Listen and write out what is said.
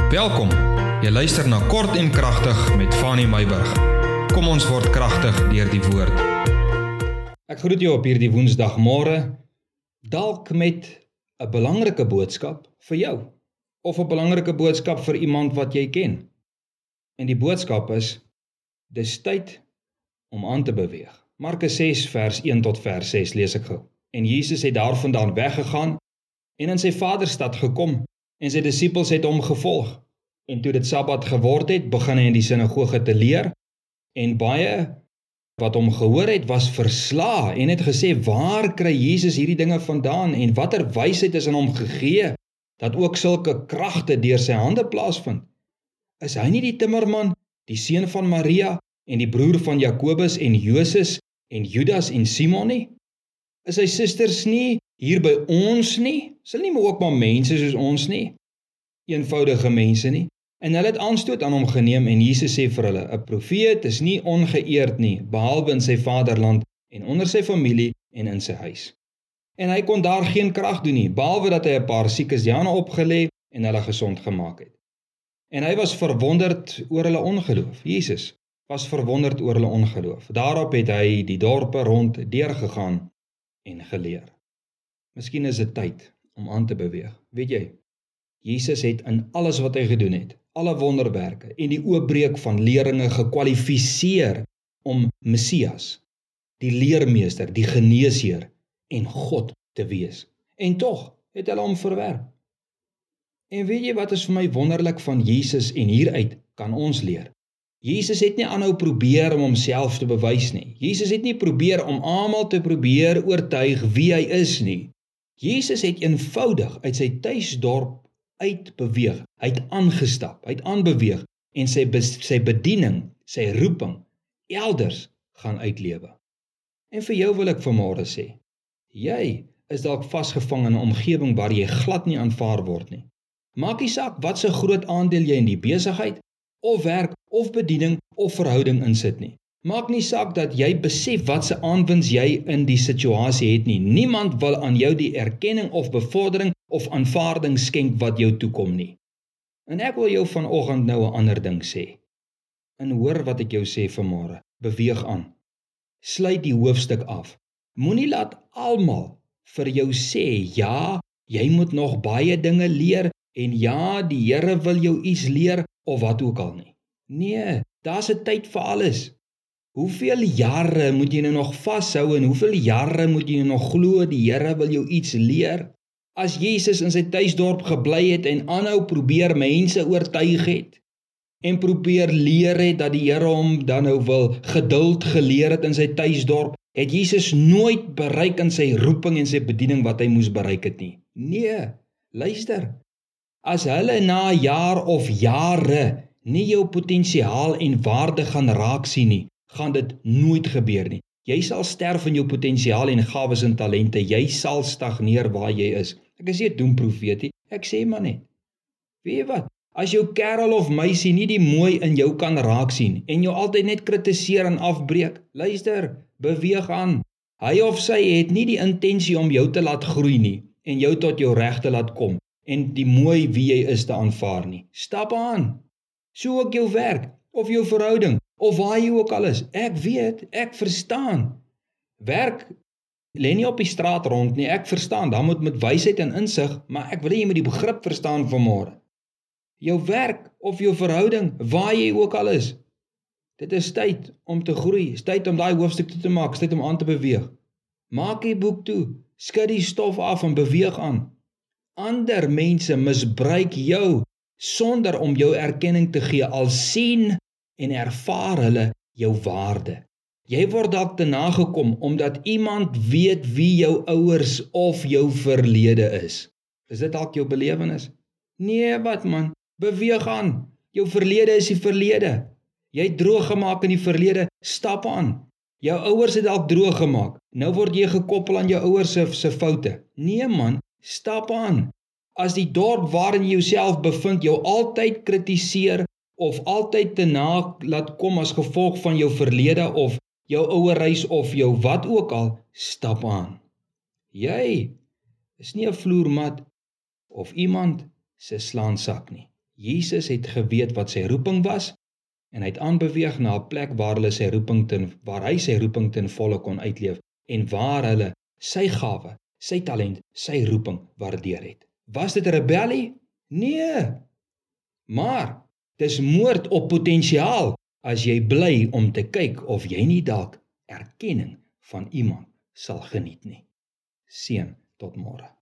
Welkom, jy luister na Kort en Kragtig met Fanny Meyburg. Kom ons word kragtig deur die woord. Ek groet jou op hierdie woensdagmôre, dalk met 'n belangrike boodskap vir jou, of 'n belangrike boodskap vir iemand wat jy ken. En die boodskap is, dis tyd om aan te beweeg. Markus 6 vers 1 tot vers 6 lees ek gou. En Jesus het daarvandaan weggegaan en in sy vaderstad gekom, en sy disippels het hom gevolg. En toe dit Sabbat geword het, begin hy in die sinagoge te leer, en baie wat hom gehoor het, was verslae, en het gesê, waar kry Jesus hierdie dinge vandaan, en watter wysheid is aan hom gegee, dat ook sulke kragte deur sy hande plaasvind? Is hy nie die timmerman, die seun van Maria, en die broer van Jakobus en Joses, en Judas en Simon nie? Is sy susters nie hier by ons nie? Is hulle nie maar ook maar mense soos ons nie? Eenvoudige mense nie? En hulle het aanstoot aan hom geneem en Jesus sê vir hulle, 'n profeet is nie ongeëerd nie, behalwe in sy vaderland en onder sy familie en in sy huis. En hy kon daar geen krag doen nie, behalwe dat hy 'n paar siekes Jane opgelê en hulle gesond gemaak het. En hy was verwonderd oor hulle ongeloof. Jesus was verwonderd oor hulle ongeloof. Daarop het hy die dorpe rond deurgegaan en geleer. Miskien is dit tyd om aan te beweeg. Weet jy, Jesus het in alles wat hy gedoen het, alle wonderwerke en die oopbreek van leringe gekwalifiseer om Messias, die leermeester, die geneesheer en God te wees. En tog het hulle hom verwerp. En weet jy wat is vir my wonderlik van Jesus en hieruit kan ons leer? Jesus het nie aanhou probeer om homself te bewys nie. Jesus het nie probeer om almal te probeer oortuig wie hy is nie. Jesus het eenvoudig uit sy tuisdorp uitbeweeg, hy het aangestap, hy het aanbeweeg en sy bediening, sy roeping, elders gaan uitlewe. En vir jou wil ek vanmôre sê, jy is dalk vasgevang in 'n omgewing waar jy glad nie aanvaar word nie. Maak nie saak wat so groot aandeel jy in die besigheid, of werk, of bediening, of verhouding insit nie. Maak nie saak dat jy besef wat se aanwins jy in die situasie het nie. Niemand wil aan jou die erkenning of bevordering of aanvaarding skenk wat jou toekom nie. En ek wil jou vanoggend nou 'n ander ding sê. En hoor wat ek jou sê vanmôre. Beweeg aan. Sluit die hoofstuk af. Moenie laat almal vir jou sê, ja, jy moet nog baie dinge leer en ja, die Here wil jou iets leer of wat ook al nie. Nee, daar's 'n tyd vir alles. Hoeveel jare moet jy nou nog vashou en hoeveel jare moet jy nou nog glo die Here wil jou iets leer? As Jesus in sy tuisdorp gebly het en aanhou probeer mense oortuig het en probeer leer het dat die Here hom dan nou wil geduld geleer het in sy tuisdorp, het Jesus nooit bereik in sy roeping en sy bediening wat hy moes bereik het nie. Nee, luister. As hulle na 'n jaar of jare nie jou potensiaal en waarde gaan raak sien nie, gaan dit nooit gebeur nie. Jy sal sterf in jou potensiaal en gawes en talente, jy sal stagneer waar jy is. Ek is nie 'n doemprofeet nie, ek sê maar net. Weet jy wat, as jou kerel of meisie nie die mooi in jou kan raak sien, en jou altyd net kritiseer en afbreek, luister, beweeg aan. Hy of sy het nie die intensie om jou te laat groei nie, en jou tot jou reg te laat kom, en die mooi wie jy is te aanvaar nie. Stap aan. So ook jou werk, of jou verhouding, of waar jy ook al is. Ek weet, ek verstaan. Werk lê nie op die straat rond nie, ek verstaan, dan moet met wysheid en insig, maar ek wil hê jy moet die begrip verstaan vanmôre. Jou werk of jou verhouding, waar jy ook al is. Dit is tyd om te groei, is tyd om daai hoofstuk toe te maak, is tyd om aan te beweeg. Maak die boek toe, skud die stof af en beweeg aan. Ander mense misbruik jou sonder om jou erkenning te gee, al sien en ervaar hulle jou waarde. Jy word dalk te nagekom omdat iemand weet wie jou ouers of jou verlede is. Is dit dalk jou belewenis? Nee, wat man, beweeg aan. Jou verlede is die verlede. Jy het droog gemaak in die verlede, stap aan. Jou ouers het dalk droog gemaak. Nou word jy gekoppel aan jou ouers se foute. Nee man, stap aan. As die dorp waarin jy jouself bevind jou altyd kritiseer of altyd te na laat kom as gevolg van jou verlede of jou ouerhuis of jou wat ook al, stap aan. Jy is nie 'n vloermat of iemand se slaansak nie. Jesus het geweet wat sy roeping was, en hy het aanbeweeg na 'n plek waar hy sy roeping ten volle kon uitleef, en waar hulle sy gawe, sy talent, sy roeping waardeer het. Was dit 'n rebellie? Nee. Maar, dis moord op potensiaal, as jy bly om te kyk of jy nie dalk erkenning van iemand sal geniet nie. Seën tot môre.